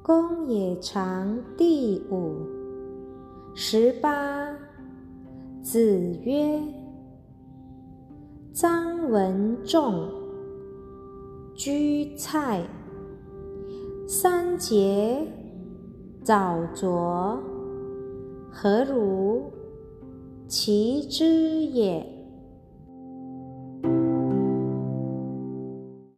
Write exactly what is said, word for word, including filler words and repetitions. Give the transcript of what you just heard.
公冶长第五。十八。子曰：臧文仲，居蔡，三节，早濯，何如？其之也。